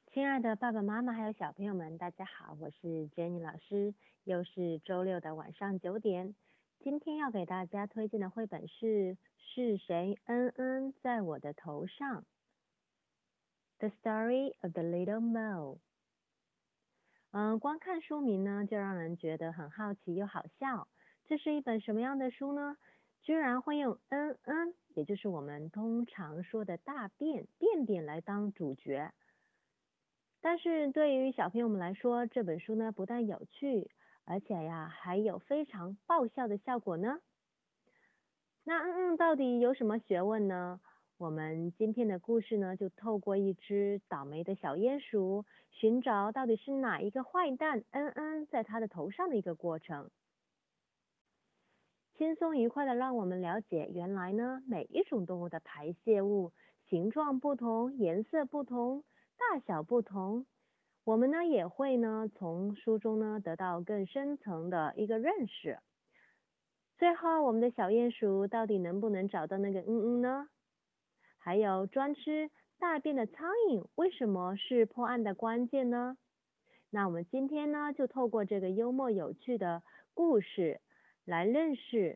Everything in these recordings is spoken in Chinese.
亲爱的爸爸妈妈还有小朋友们，大家好，我是 Jenny 老师，又是周六的晚上9点。今天要给大家推荐的绘本是谁在我的头上 The Story of the Little Mole。光看书名呢，就让人觉得很好奇又好笑。这是一本什么样的书呢？居然会用也就是我们通常说的大便来当主角。但是对于小朋友们来说，这本书呢不但有趣，而且还有非常爆笑的效果呢。那到底有什么学问呢？我们今天的故事呢，就透过一只倒霉的小鼹鼠，寻找到底是哪一个坏蛋在它的头上的一个过程。轻松愉快的让我们了解，原来呢每一种动物的排泄物形状不同，颜色不同，大小不同。我们呢也会呢从书中呢得到更深层的一个认识。最后，我们的小鼹鼠到底能不能找到那个呢？还有专吃大便的苍蝇为什么是破案的关键呢？那我们今天呢就透过这个幽默有趣的故事来认识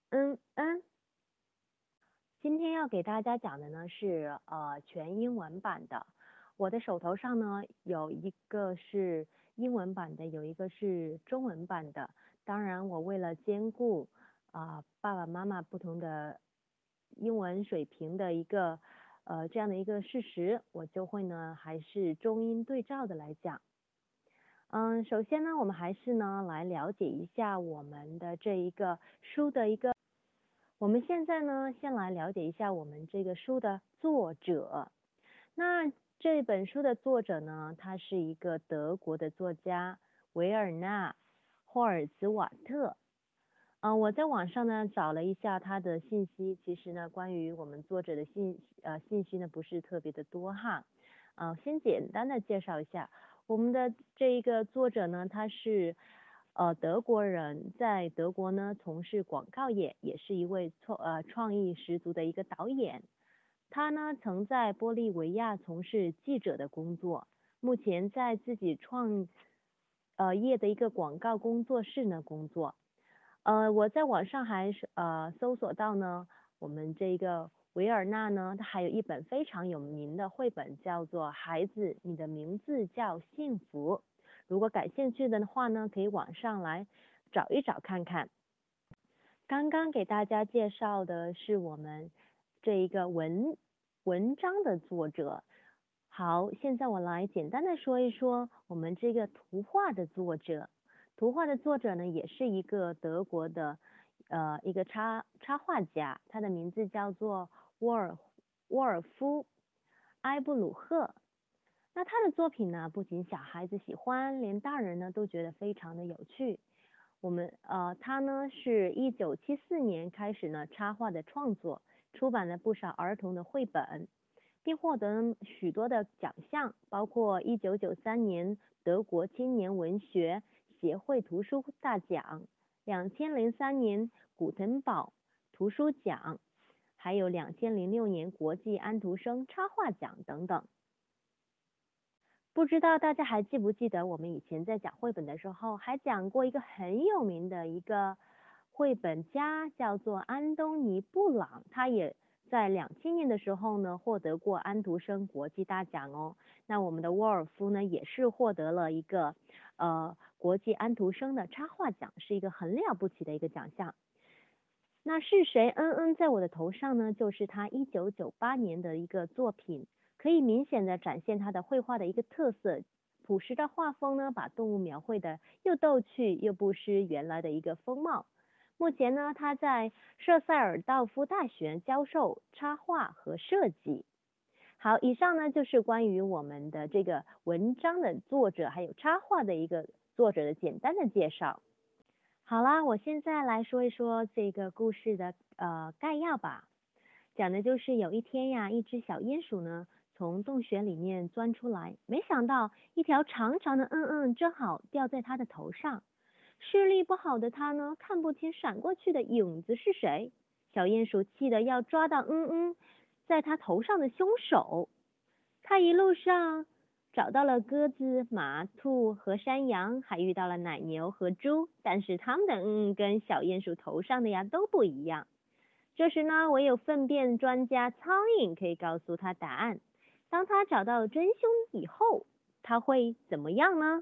今天要给大家讲的呢是全英文版的。我的手头上呢有一个是英文版的，有一个是中文版的。当然我为了兼顾爸爸妈妈不同的英文水平的一个这样的一个事实，我就会呢还是中英对照的来讲。首先呢我们还是呢来了解一下我们的这一个书的一个我们现在呢，先来了解一下我们这个书的作者。那这本书的作者呢，他是一个德国的作家维尔纳·霍尔茨瓦特。我在网上呢找了一下他的信息，其实呢，关于我们作者的信息呢不是特别的多哈。先简单的介绍一下我们的这一个作者呢，他是德国人，在德国呢从事广告业，也是一位创意十足的一个导演。他呢曾在玻利维亚从事记者的工作，目前在自己业的一个广告工作室呢工作。我在网上还是搜索到呢，我们这个维尔纳呢，他还有一本非常有名的绘本，叫做《孩子，你的名字叫幸福》。如果感兴趣的话呢，可以网上来找一找看看。刚刚给大家介绍的是我们这一个文章的作者。好，现在我来简单的说一说我们这个图画的作者。图画的作者呢，也是一个德国的一个插画家，他的名字叫做沃尔夫埃布鲁赫。那他的作品呢，不仅小孩子喜欢，连大人呢都觉得非常的有趣。他呢是1974年开始呢插画的创作，出版了不少儿童的绘本，并获得许多的奖项，包括1993年德国青年文学协会图书大奖、2003年古腾堡图书奖，还有2006年国际安徒生插画奖等等。不知道大家还记不记得我们以前在讲绘本的时候，还讲过一个很有名的一个绘本家，叫做安东尼·布朗，他也在2000年的时候呢获得过安徒生国际大奖哦。那我们的沃尔夫呢也是获得了一个国际安徒生的插画奖，是一个很了不起的一个奖项。那是谁在我的头上呢？就是他1998年的一个作品。可以明显的展现他的绘画的一个特色，朴实的画风呢，把动物描绘的又逗趣又不失原来的一个风貌。目前呢，他在舍塞尔道夫大学教授插画和设计。好，以上呢就是关于我们的这个文章的作者还有插画的一个作者的简单的介绍。好啦，我现在来说一说这个故事的概要吧。讲的就是有一天呀，一只小鼹鼠呢从洞穴里面钻出来，没想到一条长长的正好掉在它的头上。视力不好的它呢，看不清闪过去的影子是谁。小鼹鼠气得要抓到在它头上的凶手。它一路上找到了鸽子、马、兔和山羊，还遇到了奶牛和猪，但是它们的跟小鼹鼠头上的呀都不一样。这时呢，唯有粪便专家苍蝇可以告诉他答案。当他找到真凶以后，他会怎么样呢？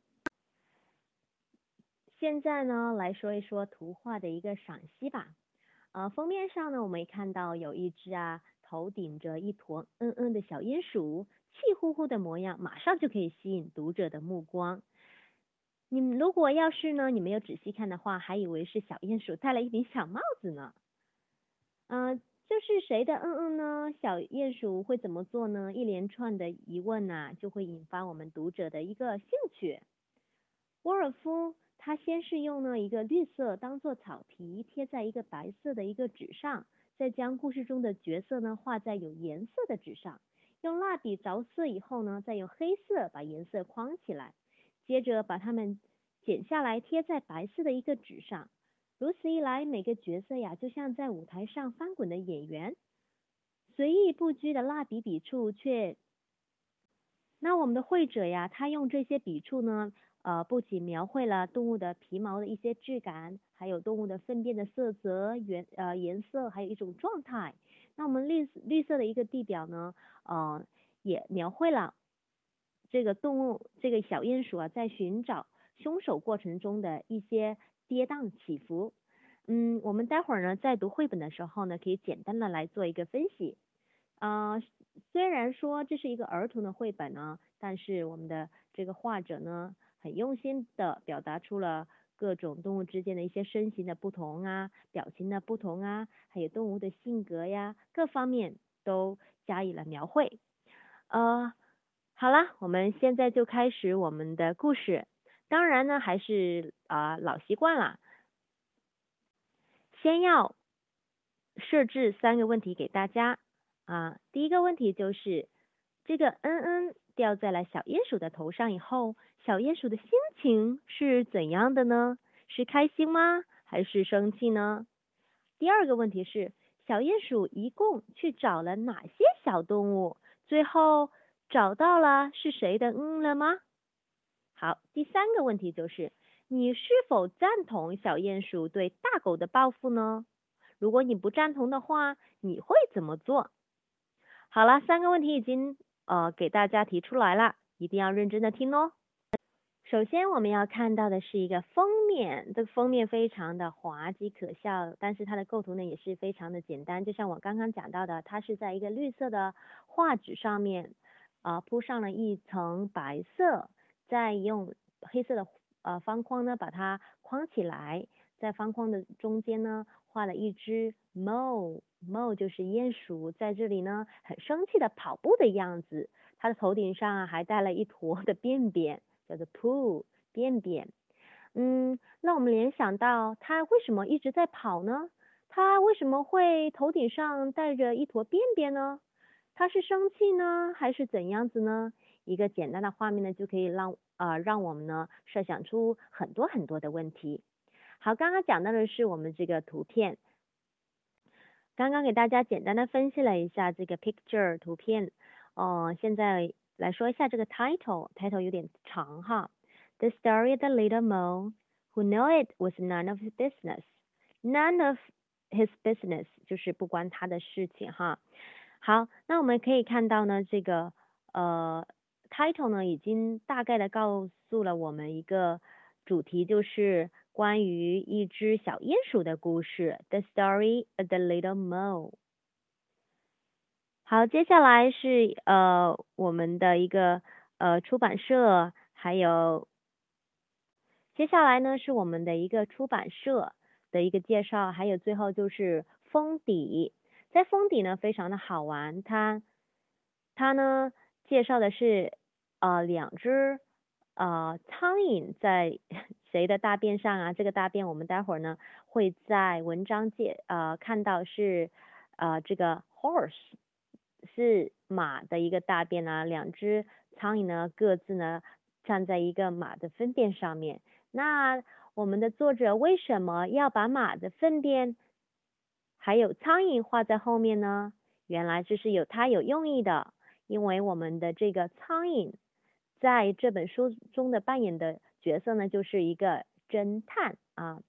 现在呢，来说一说图画的一个赏析吧。封面上呢，我们看到有一只头顶着一坨的小鼹鼠，气呼呼的模样，马上就可以吸引读者的目光。你们如果要是呢，你没有仔细看的话，还以为是小鼹鼠戴了一顶小帽子呢。这是谁的呢？小鼹鼠会怎么做呢？一连串的疑问就会引发我们读者的一个兴趣。沃尔夫他先是用了一个绿色当做草皮贴在一个白色的一个纸上，再将故事中的角色呢画在有颜色的纸上，用蜡笔着色以后呢，再用黑色把颜色框起来，接着把它们剪下来贴在白色的一个纸上。如此一来，每个角色就像在舞台上翻滚的演员，随意不拘的蜡笔笔触那我们的绘者他用这些笔触呢，不仅描绘了动物的皮毛的一些质感，还有动物的粪便的色泽、颜色，还有一种状态。那我们绿色的一个地表呢，也描绘了这个动物，这个小鼹鼠在寻找凶手过程中的一些跌宕起伏。我们待会儿呢在读绘本的时候呢，可以简单的来做一个分析。虽然说这是一个儿童的绘本呢，但是我们的这个画者呢，很用心的表达出了各种动物之间的一些身形的不同表情的不同还有动物的性格各方面都加以了描绘。好啦，我们现在就开始我们的故事。当然呢，还是老习惯啦，先要设置3个问题给大家。第一个问题就是这个掉在了小鼹鼠的头上以后，小鼹鼠的心情是怎样的呢？是开心吗？还是生气呢？第二个问题是小鼹鼠一共去找了哪些小动物？最后找到了是谁的了吗？好，第三个问题就是你是否赞同小鼹鼠对大狗的报复呢？如果你不赞同的话，你会怎么做？好了，3个问题已经给大家提出来了，一定要认真的听哦。首先我们要看到的是一个封面，这个封面非常的滑稽可笑，但是它的构图呢也是非常的简单，就像我刚刚讲到的，它是在一个绿色的画纸上面铺上了一层白色，再用黑色的方框呢把它框起来，在方框的中间呢画了一只 mole 就是鼹鼠，在这里呢很生气的跑步的样子，它的头顶上还带了一坨的便便，叫做 poo 便便。那我们联想到它为什么一直在跑呢？它为什么会头顶上带着一坨便便呢？它是生气呢，还是怎样子呢？一个简单的画面呢，就可以让我们呢设想出很多很多的问题。好，刚刚讲到的是我们这个图片，刚刚给大家简单的分析了一下这个 picture 图片，现在来说一下这个 title 有点长哈。The story of the little mole who knew it was none of his business. None of his business 就是不关他的事情哈。好，那我们可以看到呢，这个title 呢已经大概的告诉了我们一个主题，就是关于一只小鼹鼠的故事 The Story of the Little Mole。好，接下来是我们的一个出版社，还有接下来呢是我们的一个出版社的一个介绍，还有最后就是封底。在封底呢非常的好玩，它呢介绍的是2只苍蝇在谁的大便上这个大便我们待会儿呢会在文章看到是这个 horse 是马的一个大便2只苍蝇呢各自呢站在一个马的粪便上面。那我们的作者为什么要把马的粪便还有苍蝇画在后面呢？原来这是有它有用意的，因为我们的这个苍蝇在这本书中的扮演的角色呢，就是一个侦探啊。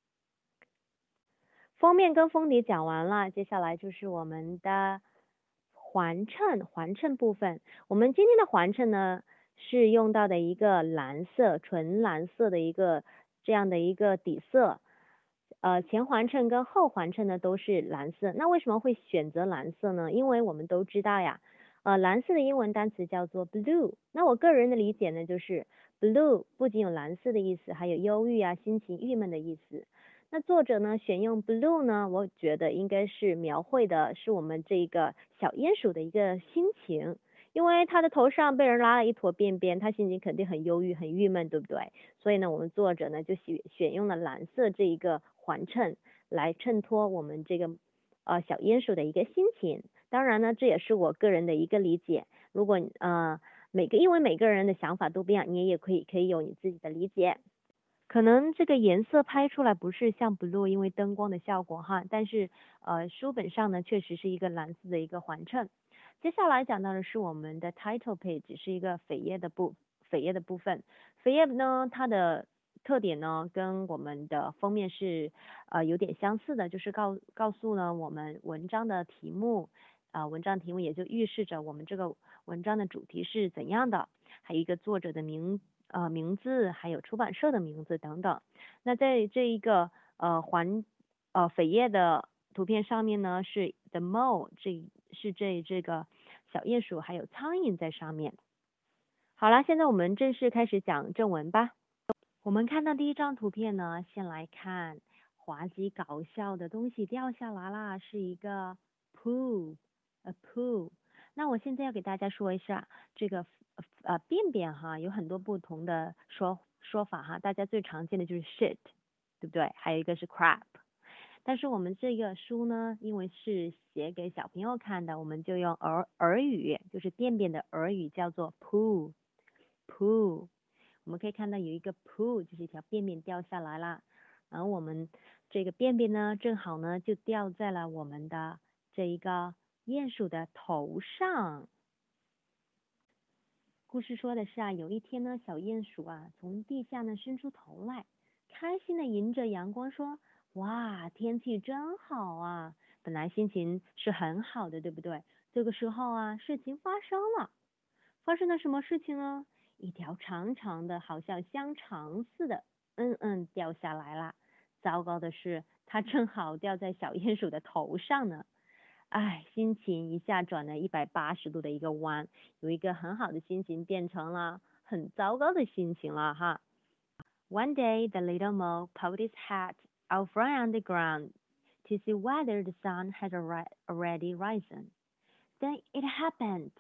封面跟封底讲完了，接下来就是我们的环衬部分。我们今天的环衬呢，是用到的一个蓝色，纯蓝色的一个这样的一个底色。前环衬跟后环衬呢都是蓝色。那为什么会选择蓝色呢？因为我们都知道呀，蓝色的英文单词叫做 blue。那我个人的理解呢，就是 blue 不仅有蓝色的意思，还有忧郁啊、心情郁闷的意思。那作者呢选用 blue 呢，我觉得应该是描绘的是我们这个小鼹鼠的一个心情，因为它的头上被人拉了一坨便便，它心情肯定很忧郁、很郁闷，对不对？所以呢，我们作者呢就选用了蓝色这一个环衬来衬托我们这个小鼹鼠的一个心情。当然呢，这也是我个人的一个理解。如果因为每个人的想法都不一样，你也可以有你自己的理解。可能这个颜色拍出来不是像 blue，因为灯光的效果哈，但是书本上呢确实是一个蓝色的一个环衬。接下来讲到的是我们的 title page，是一个扉页的部分。扉页呢，它的特点呢跟我们的封面是有点相似的，就是告诉了我们文章的题目，文章题目也就预示着我们这个文章的主题是怎样的，还有一个作者的名字，还有出版社的名字等等。那在这一个扉页的图片上面呢，是 the mole， 这个小鼹鼠还有苍蝇在上面。好了，现在我们正式开始讲正文吧。我们看到第一张图片呢，先来看滑稽搞笑的东西掉下来啦，是一个 poo，a poo。那我现在要给大家说一下这个便便哈，有很多不同的说法哈，大家最常见的就是 shit， 对不对？还有一个是 crap。但是我们这个书呢，因为是写给小朋友看的，我们就用儿语，就是便便的儿语叫做 poo。我们可以看到有一个 poo， 就是一条便便掉下来了，然后我们这个便便呢，正好呢就掉在了我们的这一个鼹鼠的头上。故事说的是啊，有一天呢，小鼹鼠啊从地下呢伸出头来，开心的迎着阳光说：哇，天气真好啊！本来心情是很好的，对不对？这个时候啊，事情发生了。发生了什么事情呢？一条长长的，好像香肠似的，掉下来了。糟糕的是，它正好掉在小鼹鼠的头上呢。唉，心情一下转了180度的一个弯，有一个很好的心情变成了很糟糕的心情了哈。One day, the little mole poked its head out from underground to see whether the sun had already risen. Then it happened.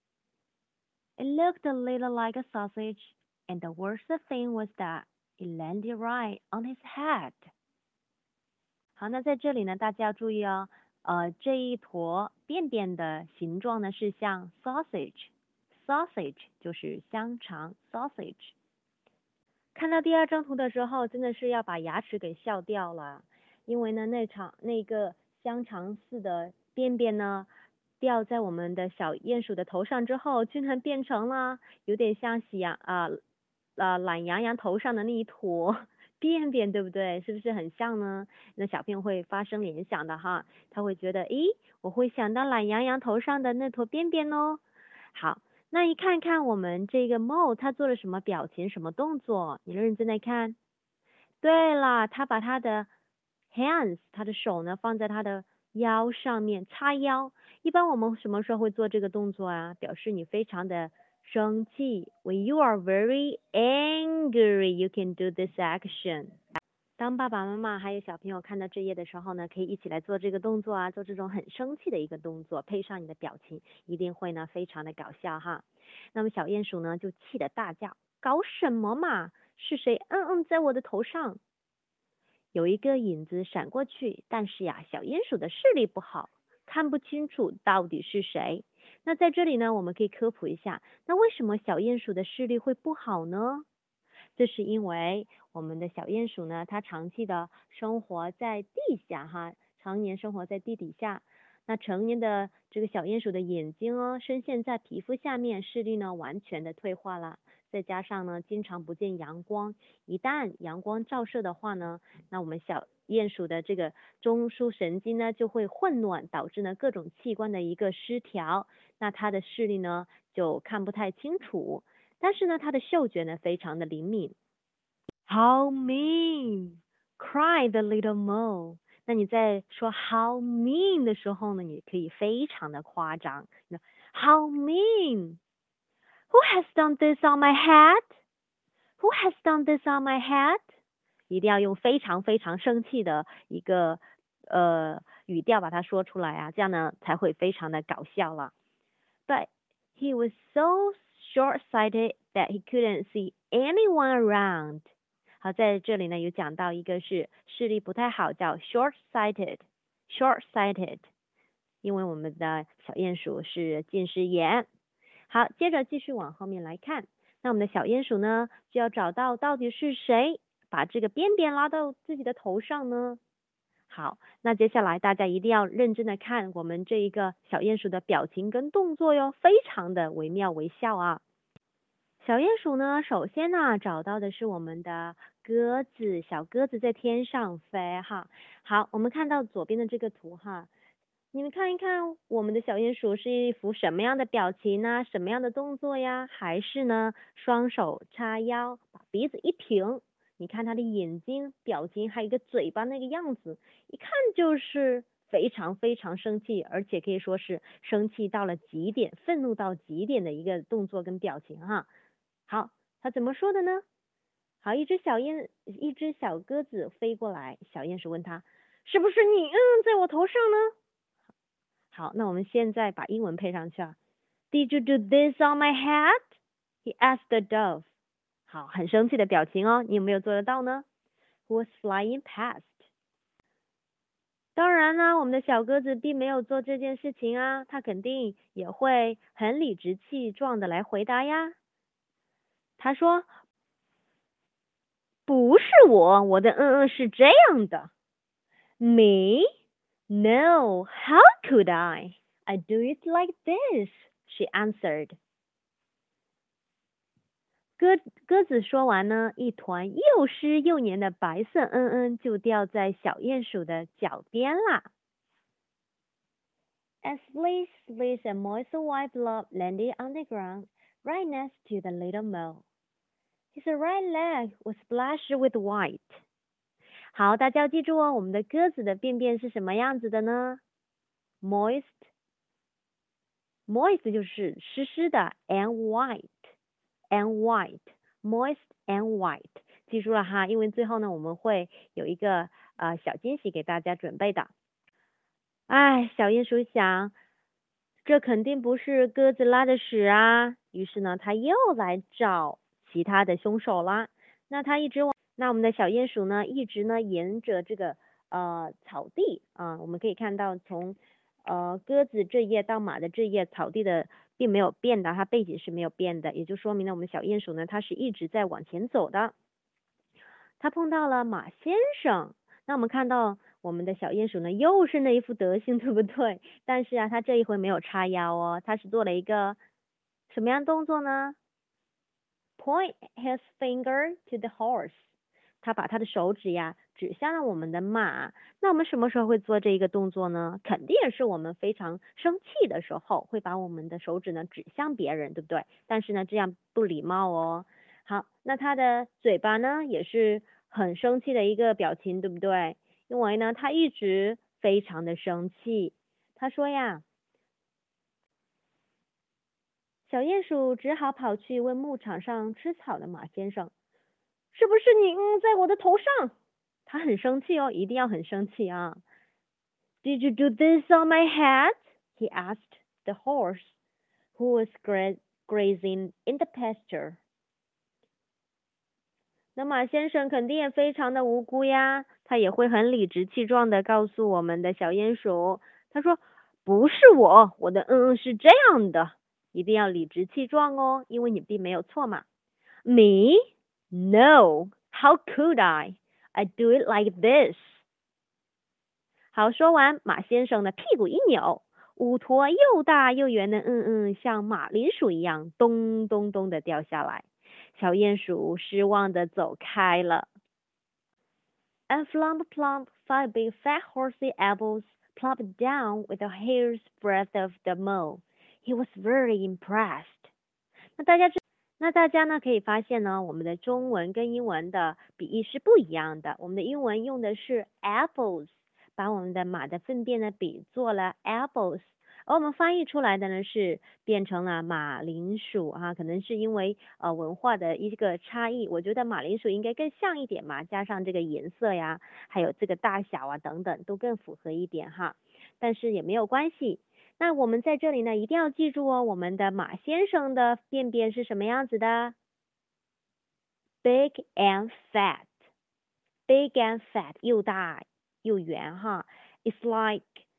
It looked a little like a sausage, and the worst thing was that it landed right on his head. 好，那在这里呢，大家要注意哦，这一坨便便的形状呢是像 sausage，sausage 就是香肠 sausage。看到第二张图的时候，真的是要把牙齿给笑掉了，因为呢，那个香肠似的便便呢，掉在我们的小鼹鼠的头上之后，居然变成了有点像懒羊羊头上的那一坨便便，对不对？是不是很像呢？那小朋友会发生联想的哈，他会觉得，诶，我会想到懒羊羊头上的那坨便便哦。好。那一看看我们这个 Mo 他做了什么表情、什么动作？你认真的看。对了，他把他的 hands，他的手呢放在他的腰上面叉腰。一般我们什么时候会做这个动作啊？表示你非常的生气。When you are very angry, you can do this action. 当爸爸妈妈还有小朋友看到这页的时候呢，可以一起来做这个动作啊，做这种很生气的一个动作，配上你的表情，一定会呢非常的搞笑哈。那么小鼹鼠呢就气得大叫：搞什么嘛？是谁在我的头上？有一个影子闪过去，但是呀，小鼹鼠的视力不好，看不清楚到底是谁。那在这里呢，我们可以科普一下，那为什么小鼹鼠的视力会不好呢？这是因为我们的小鼹鼠呢，它长期的生活在地下哈，常年生活在地底下。 那成年的这个小鼹鼠的眼睛哦，深陷在皮肤下面，视力呢完全的退化了。再加上呢，经常不见阳光，一旦阳光照射的话呢，那我们小鼹鼠的这个中枢神经呢就会混乱，导致呢各种器官的一个失调，那它的视力呢就看不太清楚。但是呢，它的嗅觉呢非常的灵敏。How mean! Cried the little mole. 那你在说 how mean 的时候呢，你可以非常的夸张。How mean! Who has done this on my head? Who has done this on my head? 一定要用非常非常生气的一个语调把它说出来啊，这样呢才会非常的搞笑了。But he was so short-sighted that he couldn't see anyone around. 好，在这里呢有讲到一个是视力不太好，叫 short-sighted，因为我们的小鼹鼠是近视眼。好，接着继续往后面来看，那我们的小鼹鼠呢就要找到到底是谁把这个边边拉到自己的头上呢？好，那接下来大家一定要认真的看我们这一个小鼹鼠的表情跟动作哟，非常的惟妙惟肖啊。小鼹鼠呢，首先呢找到的是我们的鸽子，小鸽子在天上飞哈。好，我们看到左边的这个图哈，你们看一看我们的小鼹鼠是一副什么样的表情呢？什么样的动作呀？还是呢双手叉腰，把鼻子一挺？你看它的眼睛、表情，还有一个嘴巴那个样子，一看就是非常非常生气，而且可以说是生气到了极点、愤怒到极点的一个动作跟表情哈。好，他怎么说的呢？好，一只小鸽子飞过来，小鼹鼠问他：是不是你在我头上呢？好，那我们现在把英文配上去啊。Did you do this on my head? He asked the dove. 好，很生气的表情哦，你有没有做得到呢？ Who was flying past? 当然呢，我们的小鸽子并没有做这件事情啊，它肯定也会很理直气壮的来回答呀。他说：不是我的是这样的。Me? No, how could I? I do it like this, she answered. 鸽子说完呢，一团又湿又黏的白色就掉在小鼹鼠的脚边啦。A splish, splish, a moist white blob landed on the ground right next to the little mole. His right leg was splashed with white. 好，大家要记住哦，我们的鸽子的便便是什么样子的呢？ Moist 就是湿湿的 and white moist and white， 记住了哈，因为最后呢我们会有一个小惊喜给大家准备的。哎，小鼹鼠想，这肯定不是鸽子拉的屎啊，于是呢他又来找其他的凶手啦。那我们的小鼹鼠呢一直呢沿着这个草地啊，我们可以看到从鸽子这页到马的这页，草地的并没有变的，它背景是没有变的，也就说明了我们小鼹鼠呢，它是一直在往前走的。它碰到了马先生，那我们看到我们的小鼹鼠呢，又是那一副德行，对不对？但是啊，它这一回没有叉腰哦，它是做了一个什么样动作呢？ Point his finger to the horse。他把他的手指呀指向了我们的马。那我们什么时候会做这一个动作呢？肯定是我们非常生气的时候，会把我们的手指呢指向别人，对不对？但是呢，这样不礼貌哦。好，那他的嘴巴呢也是很生气的一个表情，对不对？因为呢，他一直非常的生气。他说呀，小鼹鼠只好跑去问牧场上吃草的马先生。是不是你在我的头上？他很生气哦，一定要很生气啊。Did you do this on my head? He asked the horse, who was grazing in the pasture. 那马先生肯定也非常的无辜呀，他也会很理直气壮的告诉我们的小鼹鼠，他说不是我的是这样的，一定要理直气壮哦，因为你并没有错嘛。Me? No, how could I? I do it like this. 好，说完，马先生的屁股一扭，五坨又大又圆的像马铃薯一样咚咚咚的掉下来。小鼹鼠失望的走开了。And flump plump, 5 big fat horsey apples plopped down with a hair's breadth of the mow. He was very impressed. 那大家呢可以发现呢，我们的中文跟英文的笔译是不一样的。我们的英文用的是 apples， 把我们的马的粪便呢比作了 apples， 而我们翻译出来的呢是变成了马铃薯啊，可能是因为文化的一个差异。我觉得马铃薯应该更像一点嘛，加上这个颜色呀，还有这个大小啊等等，都更符合一点哈。但是也没有关系。那我们在这里呢，一定要记住哦，我们的马先生的便便是什么样子的 ？Big and fat, big and fat， 又大又圆哈。It's like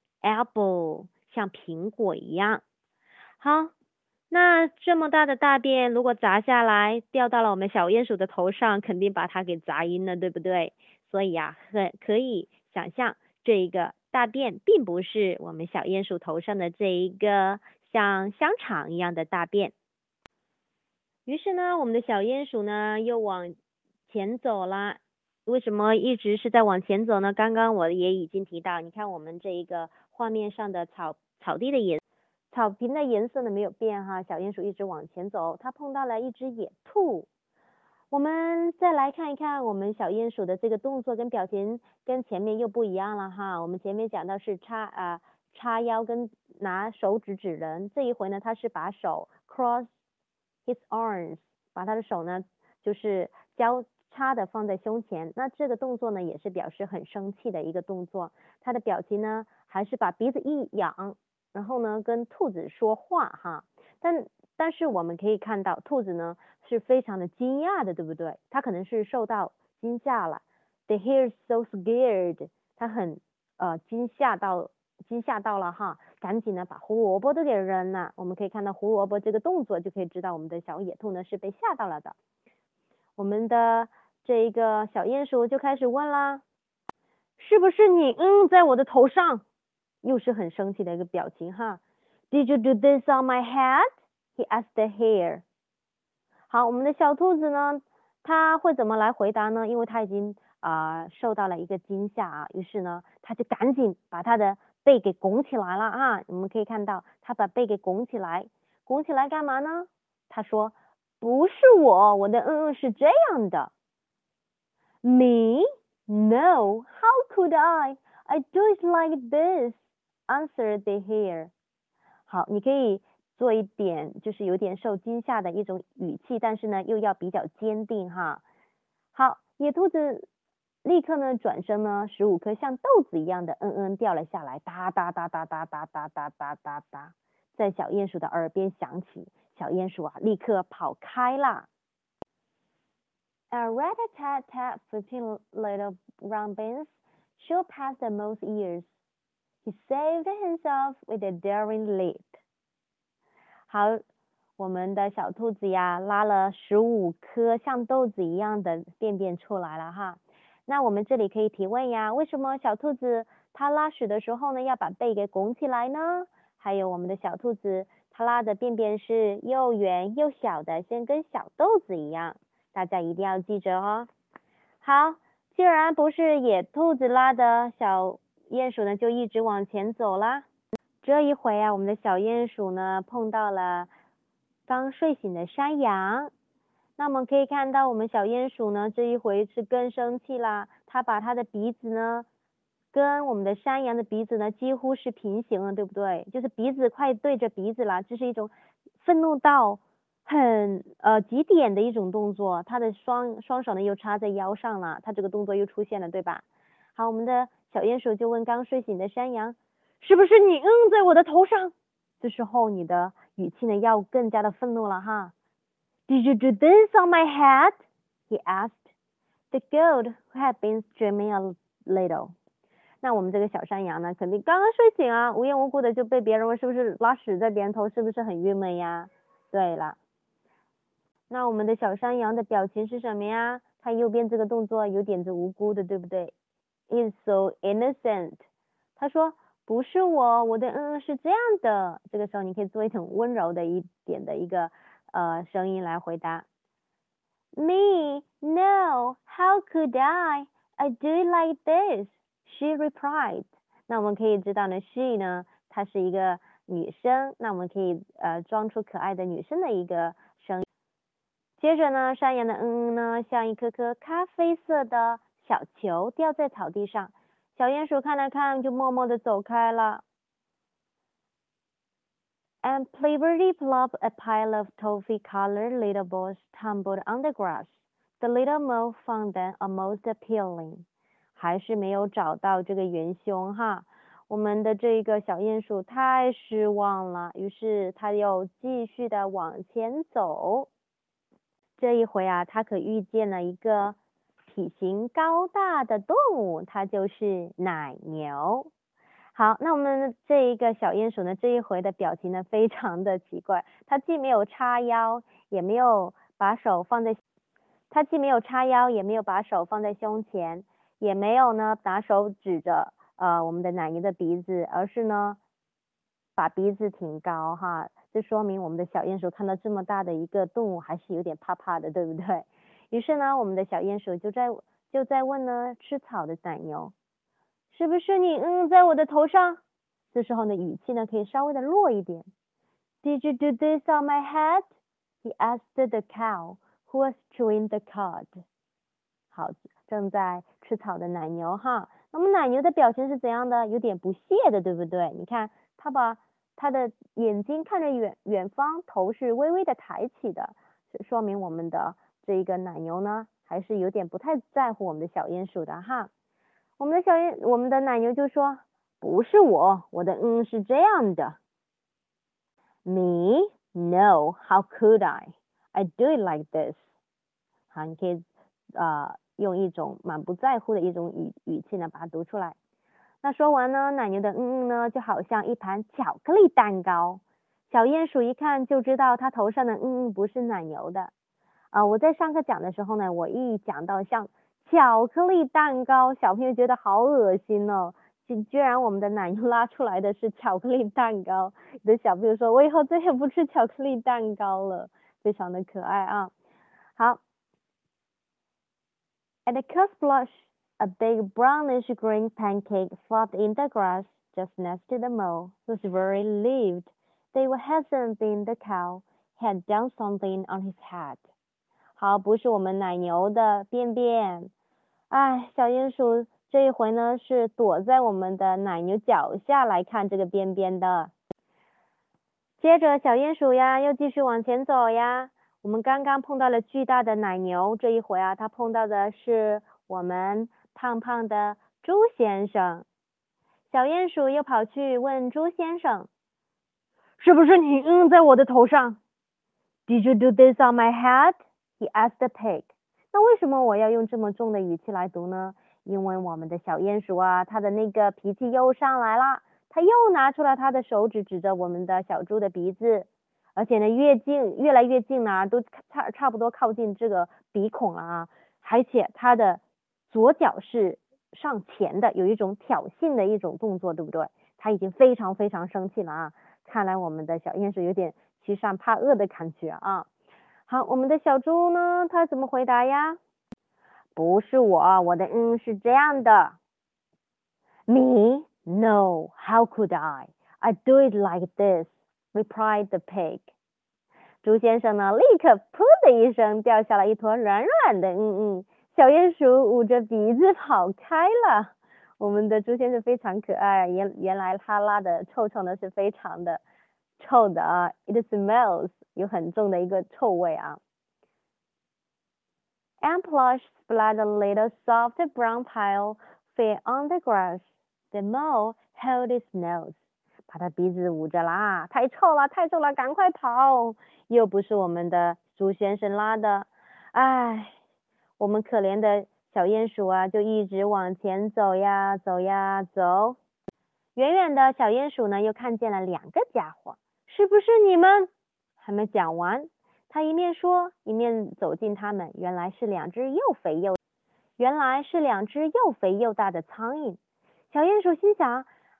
apple， 像苹果一样。好，那这么大的大便，如果砸下来掉到了我们小鼹鼠的头上，肯定把它给砸晕了，对不对？所以啊，可以想象这一个大便并不是我们小鼹鼠头上的这一个像香肠一样的大便。于是呢，我们的小鼹鼠呢又往前走了。为什么一直是在往前走呢？刚刚我也已经提到，你看我们这一个画面上的草坪的颜色呢没有变哈，小鼹鼠一直往前走，它碰到了一只野兔。我们再来看一看我们小鼹鼠的这个动作跟表情跟前面又不一样了哈。我们前面讲到是叉腰跟拿手指指人，这一回呢它是把手 cross his arms， 把他的手呢就是交叉的放在胸前。那这个动作呢也是表示很生气的一个动作。他的表情呢还是把鼻子一仰，然后呢跟兔子说话哈。但是我们可以看到兔子呢是非常的惊讶的，对不对？它可能是受到惊吓了。The hare is so scared， 它很惊吓到了哈，赶紧呢把胡萝卜都给扔了。我们可以看到胡萝卜这个动作，就可以知道我们的小野兔呢是被吓到了的。我们的这一个小鼹鼠就开始问啦，是不是你在我的头上？又是很生气的一个表情哈。Did you do this on my head? He asked the hare。 好，我们的小兔子呢，它会怎么来回答呢？因为它已经受到了一个惊吓啊，于是呢，它就赶紧把它的背给拱起来了啊。我们可以看到，它把背给拱起来，拱起来干嘛呢？它说，不是我的是这样的。Me? No, how could I? I do it like this, answered the hare。 好，你可以做一点就是有点受惊吓的一种语气，但是呢又要比较坚定哈。好，野兔子立刻呢转身呢，15颗像豆子一样的掉了下来，哒哒哒哒哒哒哒哒哒哒哒，在小鼹鼠的耳边响起。小鼹鼠立刻跑开啦。A rat-a-tat-tat, 15 little round beans shot past the mouse's ears. He saved himself with a daring leap. 好，我们的小兔子呀，拉了15颗像豆子一样的便便出来了哈。那我们这里可以提问呀，为什么小兔子它拉屎的时候呢，要把背给拱起来呢？还有我们的小兔子，它拉的便便是又圆又小的，像跟小豆子一样。大家一定要记着哦。好，既然不是野兔子拉的，小鼹鼠呢就一直往前走啦。这一回啊，我们的小鼹鼠呢碰到了刚睡醒的山羊。那我们可以看到，我们小鼹鼠呢这一回是更生气啦，它把它的鼻子呢跟我们的山羊的鼻子呢几乎是平行了，对不对？就是鼻子快对着鼻子了，这是一种愤怒到很极点的一种动作。它的双手呢又插在腰上了，它这个动作又出现了，对吧？好，我们的小鼹鼠就问刚睡醒的山羊，是不是你在我的头上？这时候你的语气呢要更加的愤怒了哈。Did you do this on my head? He asked. The goat, who had been dreaming a little. 那我们这个小山羊呢，肯定刚刚睡醒啊，无缘无故的就被别人问是不是拉屎在别人头，是不是很郁闷呀？对了，那我们的小山羊的表情是什么呀？它右边这个动作有点子无辜的，对不对？It's so innocent. 他说不是我，我的是这样的。这个时候你可以做一种温柔的一点的一个声音来回答。Me? No, how could I? I do it like this, she replied. 那我们可以知道呢 she 呢，她是一个女生，那我们可以装出可爱的女生的一个声音。接着呢，山羊的呢，像一颗颗咖啡色的小球掉在草地上，小鼹鼠看了看，就默默地走开了。And plibberty plop, a pile of toffee-colored little balls tumbled on the grass. The little mole found them almost appealing. 还是没有找到这个元凶哈，我们的这个小鼹鼠太失望了，于是它又继续的往前走。这一回啊，它可遇见了一个体型高大的动物，它就是奶牛。好，那我们这一个小鼹鼠呢，这一回的表情呢非常的奇怪，它既没有叉腰，也没有把手放在胸前，也没有呢拿手指着我们的奶牛的鼻子，而是呢把鼻子挺高哈，这说明我们的小鼹鼠看到这么大的一个动物还是有点怕怕的，对不对？于是呢，我们的小鼹鼠就在问呢吃草的奶牛。是不是你在我的头上？这时候呢，语气呢可以稍微的弱一点。Did you do this on my head? He asked the cow, who was chewing the cud. 好，正在吃草的奶牛哈。那么奶牛的表情是怎样的？有点不屑的，对不对？你看，它把它的眼睛看着远方，头是微微的抬起的，说明我们的这一个奶牛呢，还是有点不太在乎我们的小鼹鼠的哈。我们的奶牛就说不是我，我的是这样的。Me? No, how could I? I do it like this. 好，你可以用一种满不在乎的一种语气呢把它读出来。那说完呢，奶牛的呢就好像一盘巧克力蛋糕。小鼹鼠一看就知道它头上的不是奶牛的。我在上课讲的时候呢，我一讲到像巧克力蛋糕，小朋友觉得好恶心哦，居然我们的奶牛拉出来的是巧克力蛋糕，有的小朋友说我以后再也不吃巧克力蛋糕了，非常的可爱啊。好 ，At the cusp blush, a big brownish green pancake flopped in the grass just next to the mole, who was very relieved. They were hasn't been the cow had done something on his head. 好，不是我们奶牛的便便。哎，小鼹鼠这一回呢是躲在我们的奶牛脚下来看这个便便的。接着小鼹鼠呀又继续往前走呀，我们刚刚碰到了巨大的奶牛，这一回啊它碰到的是我们胖胖的猪先生。小鼹鼠又跑去问猪先生，是不是你在我的头上？ Did you do this on my head? He asked the pig. 那为什么我要用这么重的语气来读呢？因为我们的小鼹鼠啊，它的那个脾气又上来了，它又拿出了它的手指指着我们的小猪的鼻子，而且呢越来越近了，都差不多靠近这个鼻孔了啊，而且它的左脚是上前的，有一种挑衅的一种动作，对不对？它已经非常非常生气了啊，看来我们的小鼹鼠有点欺善怕恶的感觉啊。好，我们的小猪呢，它怎么回答呀？不是我，我的是这样的。Me? No, how could I? I do it like this, replied the pig. 猪先生呢，立刻噗的一声掉下了一坨软软的小鼹鼠捂着鼻子跑开了。我们的猪先生非常可爱，原来他拉的臭臭呢是非常的臭的啊 ，it smells 有很重的一个臭味啊。And Plush splat a little soft brown pile fell on the grass. The mole held its nose. 把他鼻子捂着啦，太臭了，太臭了，赶快跑！又不是我们的猪先生拉的，唉，我们可怜的小鼹鼠啊，就一直往前走呀，走呀，走。远远的小鼹鼠呢，又看见了两个家伙，是不是你们？还没讲完，他一面说，一面走近他们，原来是两只又肥又大的苍蝇。小鼹鼠心想，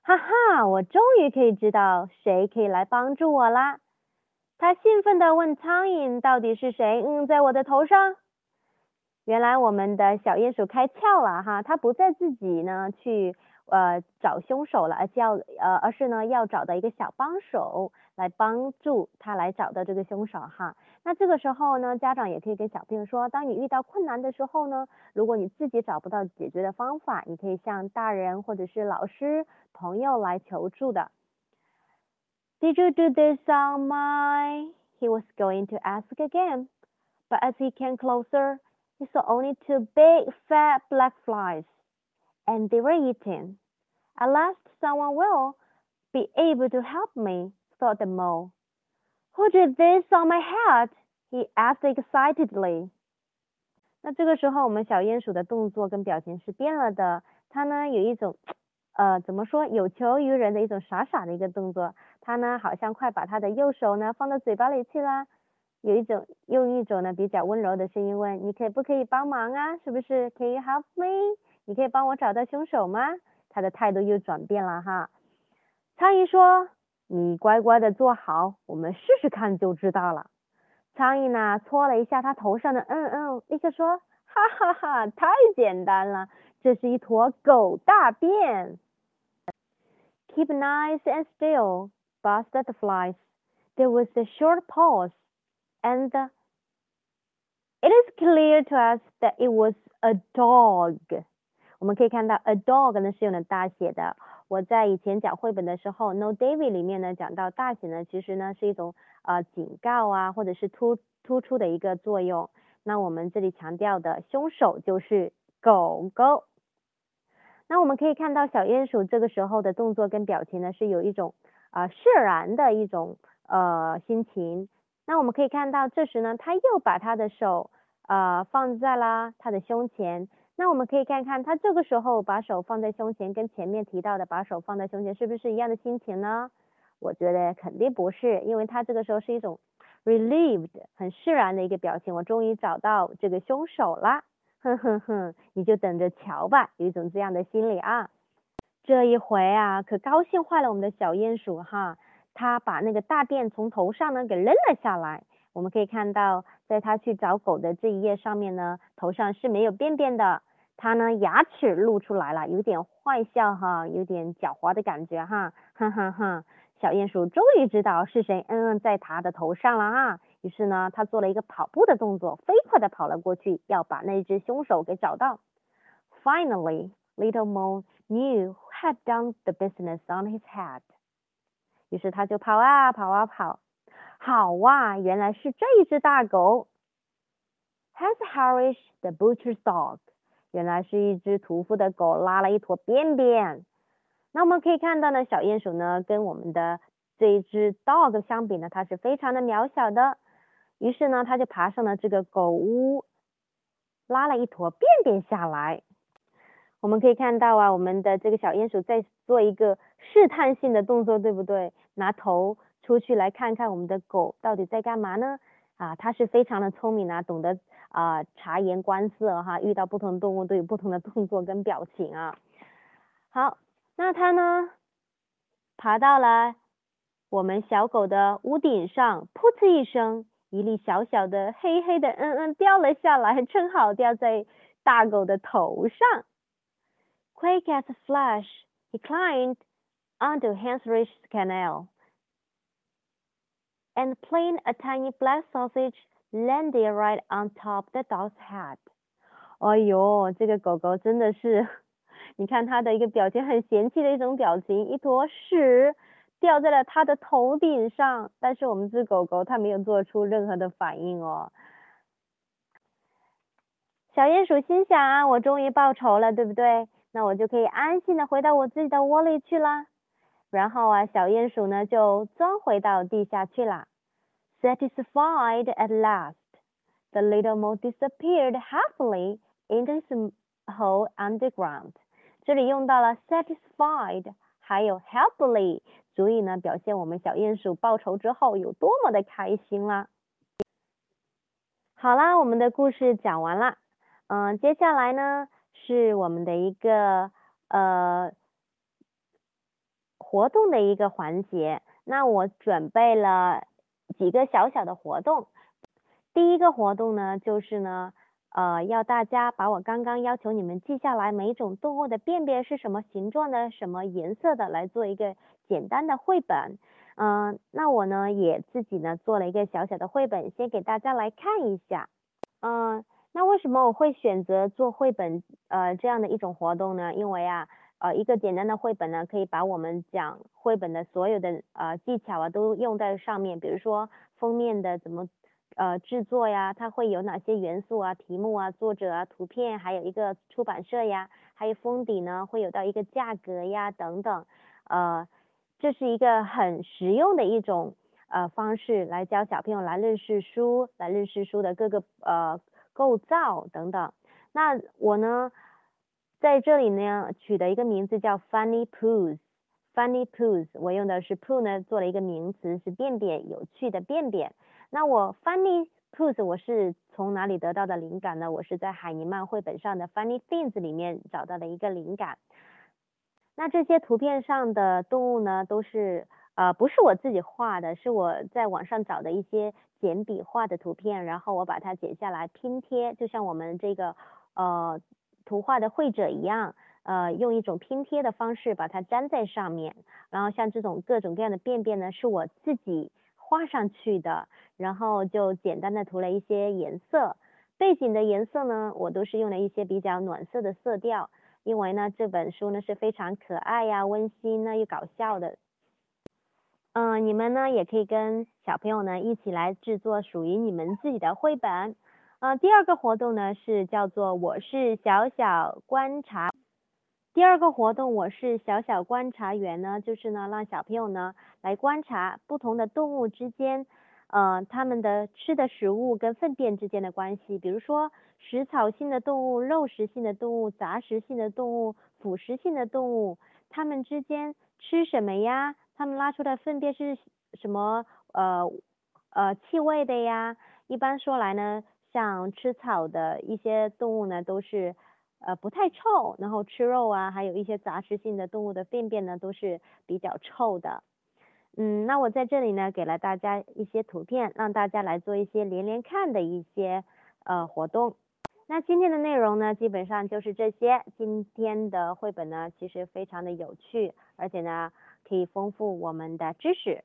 哈哈，我终于可以知道谁可以来帮助我啦。他兴奋地问苍蝇，到底是谁在我的头上？原来我们的小鼹鼠开窍了哈，它不再自己呢去找凶手了，而是呢要找到一个小帮手来帮助他来找到这个凶手哈。那这个时候呢，家长也可以跟小朋友说，当你遇到困难的时候呢，如果你自己找不到解决的方法，你可以向大人或者是老师、朋友来求助的。Did you do this on my? He was going to ask again, but as he came closer, he saw only two big fat black flies, and they were eating. At last someone will be able to help me, thought the mole. Who did this on my head? He asked excitedly. 那这个时候，我们小鼹鼠的动作跟表情是变了的。它呢有一种，怎么说，有求于人的一种傻傻的一个动作。它呢好像快把它的右手呢放到嘴巴里去啦，用一种呢比较温柔的声音问：你可不可以帮忙啊？是不是 ？Can you help me？ 你可以帮我找到凶手吗？他的态度又转变了哈。苍蝇说：你乖乖的坐好，我们试试看就知道了。苍蝇呢搓了一下它头上的立刻说：哈哈哈，太简单了，这是一坨狗大便。Keep nice and still, buzzed the flies. There was a short pause, and it is clear to us that it was a dog. 我们可以看到 a dog 呢是用了大写的。我在以前讲绘本的时候 No David 里面呢讲到大写呢其实呢是一种警告啊或者是突出的一个作用。那我们这里强调的凶手就是狗狗。那我们可以看到小鼹鼠这个时候的动作跟表情呢是有一种释然的一种心情。那我们可以看到这时呢他又把他的手放在了他的胸前。那我们可以看看他这个时候把手放在胸前跟前面提到的把手放在胸前是不是一样的心情呢？我觉得肯定不是，因为他这个时候是一种 relieved 很释然的一个表情，我终于找到这个凶手啦，哼哼哼，你就等着瞧吧，有一种这样的心理啊。这一回啊可高兴坏了我们的小鼹鼠哈，他把那个大便从头上呢给扔了下来。我们可以看到在他去找狗的这一页上面呢，头上是没有便便的，他呢牙齿露出来了，有点坏笑哈，有点狡猾的感觉哈，哈哈哈。小鼹鼠终于知道是谁在它的头上了啊，于是呢他做了一个跑步的动作，飞快的跑了过去，要把那只凶手给找到。Finally, Little Mole knew who had done the business on his head. 于是他就跑啊跑啊跑，好哇，原来是这一只大狗。Has Harish the butcher's dog. 原来是一只屠夫的狗拉了一坨便便。那我们可以看到呢，小鼹鼠呢跟我们的这一只 dog 相比呢，它是非常的渺小的。于是呢，它就爬上了这个狗屋，拉了一坨便便下来。我们可以看到啊，我们的这个小鼹鼠在做一个试探性的动作，对不对？拿头出去来看看我们的狗到底在干嘛呢？它是非常的聪明啊，懂得察言观色哈，遇到不同动物都有不同的动作跟表情啊。好，那它呢爬到了我们小狗的屋顶上，噗呲一声，一粒小小的黑黑的掉了下来，正好掉在大狗的头上。Quick as a flash, he climbed onto Henry's canal, and playing a tiny black sausage landed right on top the dog's head. 哎呦，这个狗狗真的是，你看它的一个表情很嫌弃的一种表情，一坨屎掉在了它的头顶上，但是我们这狗狗它没有做出任何的反应哦。小鼹鼠心想啊，我终于报仇了，对不对？那我就可以安心的回到我自己的窝里去啦。然后啊，小鼹鼠呢就钻回到地下去了。Satisfied at last, the little mole disappeared happily into his hole underground. 这里用到了 satisfied 还有 happily， 足以呢表现我们小鼹鼠报仇之后有多么的开心啦。好啦，我们的故事讲完了。接下来呢是我们的一个活动的一个环节。那我准备了几个小小的活动。第一个活动呢，就是呢，要大家把我刚刚要求你们记下来每一种动物的便便是什么形状的、什么颜色的，来做一个简单的绘本。那我呢也自己呢做了一个小小的绘本，先给大家来看一下。那为什么我会选择做绘本这样的一种活动呢？因为啊，一个简单的绘本呢，可以把我们讲绘本的所有的技巧啊都用在上面，比如说封面的怎么制作呀，它会有哪些元素啊、题目啊、作者啊、图片，还有一个出版社呀，还有封底呢会有到一个价格呀等等，这是一个很实用的一种方式来教小朋友来认识书，来认识书的各个构造等等。那我呢在这里呢取的一个名字叫 Funny Poos。Funny Poos， 我用的是 poo 呢做了一个名词，是便便，有趣的便便。那我 Funny Poos 我是从哪里得到的灵感呢？我是在海尼曼绘本上的 Funny Things 里面找到的一个灵感。那这些图片上的动物呢，都是不是我自己画的，是我在网上找的一些简笔画的图片，然后我把它剪下来拼贴，就像我们这个图画的绘者一样，用一种拼贴的方式把它粘在上面。然后像这种各种各样的便便呢，是我自己画上去的，然后就简单的涂了一些颜色。背景的颜色呢，我都是用了一些比较暖色的色调。因为呢，这本书呢是非常可爱呀、温馨呢又搞笑的。你们呢也可以跟小朋友呢一起来制作属于你们自己的绘本。第二个活动呢是叫做我是小小观察。第二个活动我是小小观察员呢，就是呢让小朋友呢来观察不同的动物之间，它们的吃的食物跟粪便之间的关系。比如说食草性的动物、肉食性的动物、杂食性的动物、腐食性的动物，它们之间吃什么呀？它们拉出的粪便是什么气味的呀？一般说来呢，像吃草的一些动物呢，都是不太臭，然后吃肉啊，还有一些杂食性的动物的便便呢，都是比较臭的。那我在这里呢，给了大家一些图片，让大家来做一些连连看的一些活动。那今天的内容呢，基本上就是这些。今天的绘本呢，其实非常的有趣，而且呢，可以丰富我们的知识。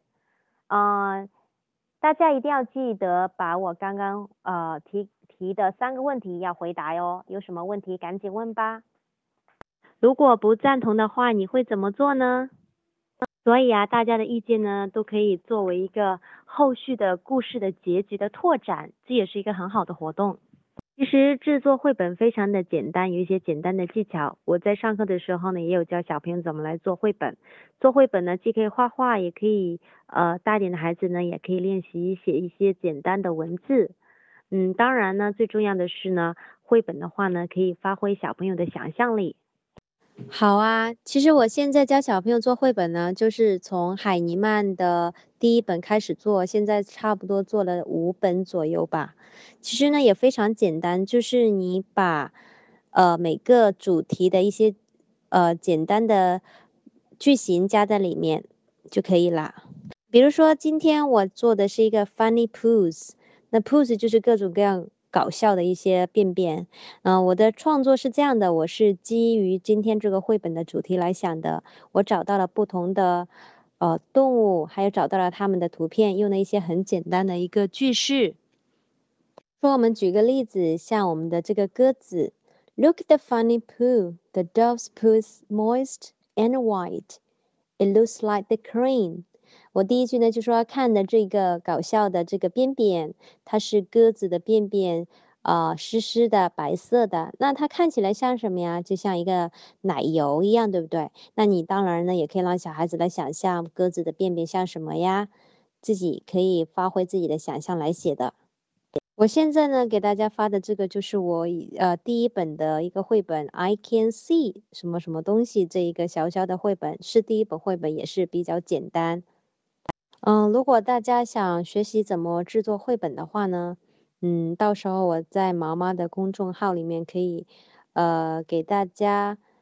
大家一定要记得把我刚刚提的3个问题要回答哟。有什么问题赶紧问吧。如果不赞同的话，你会怎么做呢？所以啊，大家的意见呢，都可以作为一个后续的故事的结局的拓展，这也是一个很好的活动。其实制作绘本非常的简单，有一些简单的技巧。我在上课的时候呢，也有教小朋友怎么来做绘本。做绘本呢，既可以画画，也可以大一点的孩子呢，也可以练习写一些简单的文字。当然呢，最重要的是呢，绘本的话呢，可以发挥小朋友的想象力。 好啊，其实我现在教小朋友做绘本呢，就是从海尼曼的第1本开始做，现在差不多做了5本左右吧。其实呢也非常简单，就是你把每个主题的一些简单的句型加在里面就可以啦。比如说今天我做的是一个 Funny Poos， 那 Poos 就是各种各样搞笑的一些便便。我的创作是这样的，我是基于今天这个绘本的主题来想的。我找到了不同的动物，还有找到了它们的图片，用了一些很简单的一个句式。说我们举个例子，像我们的这个鸽子 ，Look at the funny poo. The dove's poo's moist and white. It looks like the crane. 我第一句呢就说看的这个搞笑的这个便便，它是鸽子的便便，湿湿的白色的，那它看起来像什么呀？就像一个奶油一样，对不对？那你当然呢也可以让小孩子来想象鸽子的便便像什么呀，自己可以发挥自己的想象来写的。我现在呢给大家发的这个就是我第1本的一个绘本 I can see 什么什么东西，这一个小小的绘本是第1本绘本，也是比较简单。如果大家想学习怎么制作绘本的话呢，到时候我在毛妈的公众号里面可以给大家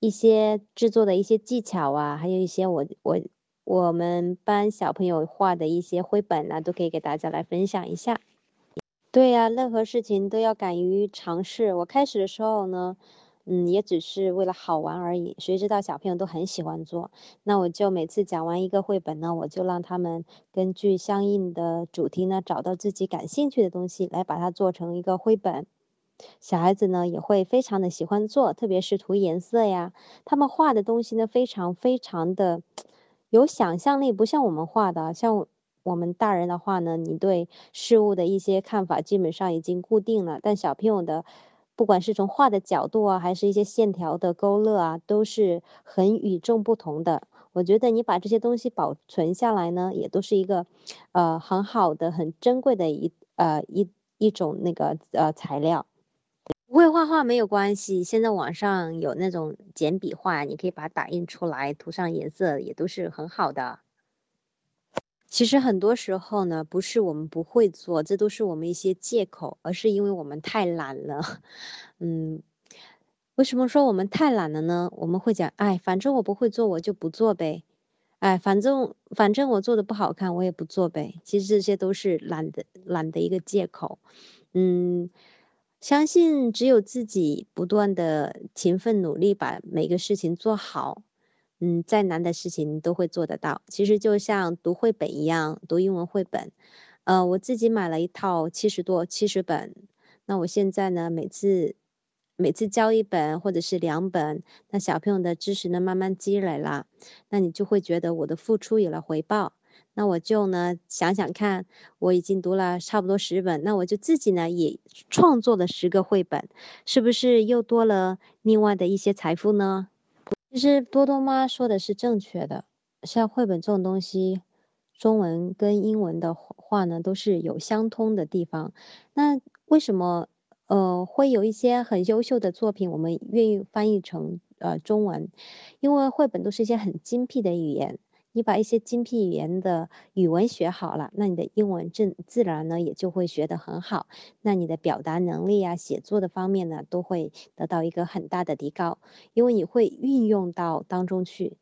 一些制作的一些技巧啊，还有一些我们班小朋友画的一些绘本啊，都可以给大家来分享一下。对呀，任何事情都要敢于尝试。我开始的时候呢，也只是为了好玩而已，谁知道小朋友都很喜欢做。那我就每次讲完一个绘本呢，我就让他们根据相应的主题呢，找到自己感兴趣的东西，来把它做成一个绘本。小孩子呢也会非常的喜欢做，特别是涂颜色呀，他们画的东西呢非常非常的有想象力，不像我们画的，像我们大人的话呢，你对事物的一些看法基本上已经固定了，但小朋友的不管是从画的角度啊，还是一些线条的勾勒啊，都是很与众不同的。我觉得你把这些东西保存下来呢，也都是一个很好的、很珍贵的一种那个材料。不会画画没有关系，现在网上有那种简笔画，你可以把它打印出来，涂上颜色，也都是很好的。其实很多时候呢，不是我们不会做，这都是我们一些借口，而是因为我们太懒了。嗯，为什么说我们太懒了呢？我们会讲，哎，反正我不会做，我就不做呗。哎，反正我做的不好看，我也不做呗。其实这些都是懒的一个借口。嗯，相信只有自己不断的勤奋努力，把每个事情做好，再难的事情都会做得到。其实就像读绘本一样，读英文绘本，我自己买了一套70本，那我现在呢，每次教一本或者是2本，那小朋友的知识呢慢慢积累了，那你就会觉得我的付出有了回报。那我就呢想想看，我已经读了差不多10本，那我就自己呢也创作了10个绘本，是不是又多了另外的一些财富呢？其实多多妈说的是正确的，像绘本这种东西，中文跟英文的话呢都是有相通的地方。那为什么会有一些很优秀的作品，我们愿意翻译成中文？因为绘本都是一些很精辟的语言，你把一些精辟语言的语文学好了，那你的英文自然呢也就会学得很好，那你的表达能力啊、写作的方面呢都会得到一个很大的提高。因为你会运用到当中去。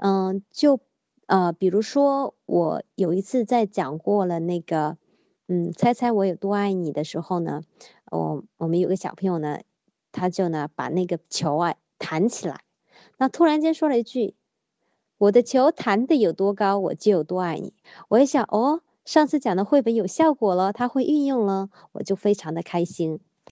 比如说我有一次在讲过了那个，猜猜我有多爱你的时候呢，我们有个小朋友呢，他就呢把那个球啊弹起来，那突然间说了一句：“我的球弹得有多高，我就有多爱你。”我一想，哦，上次讲的绘本有效果了，他会运用了，我就非常的开心。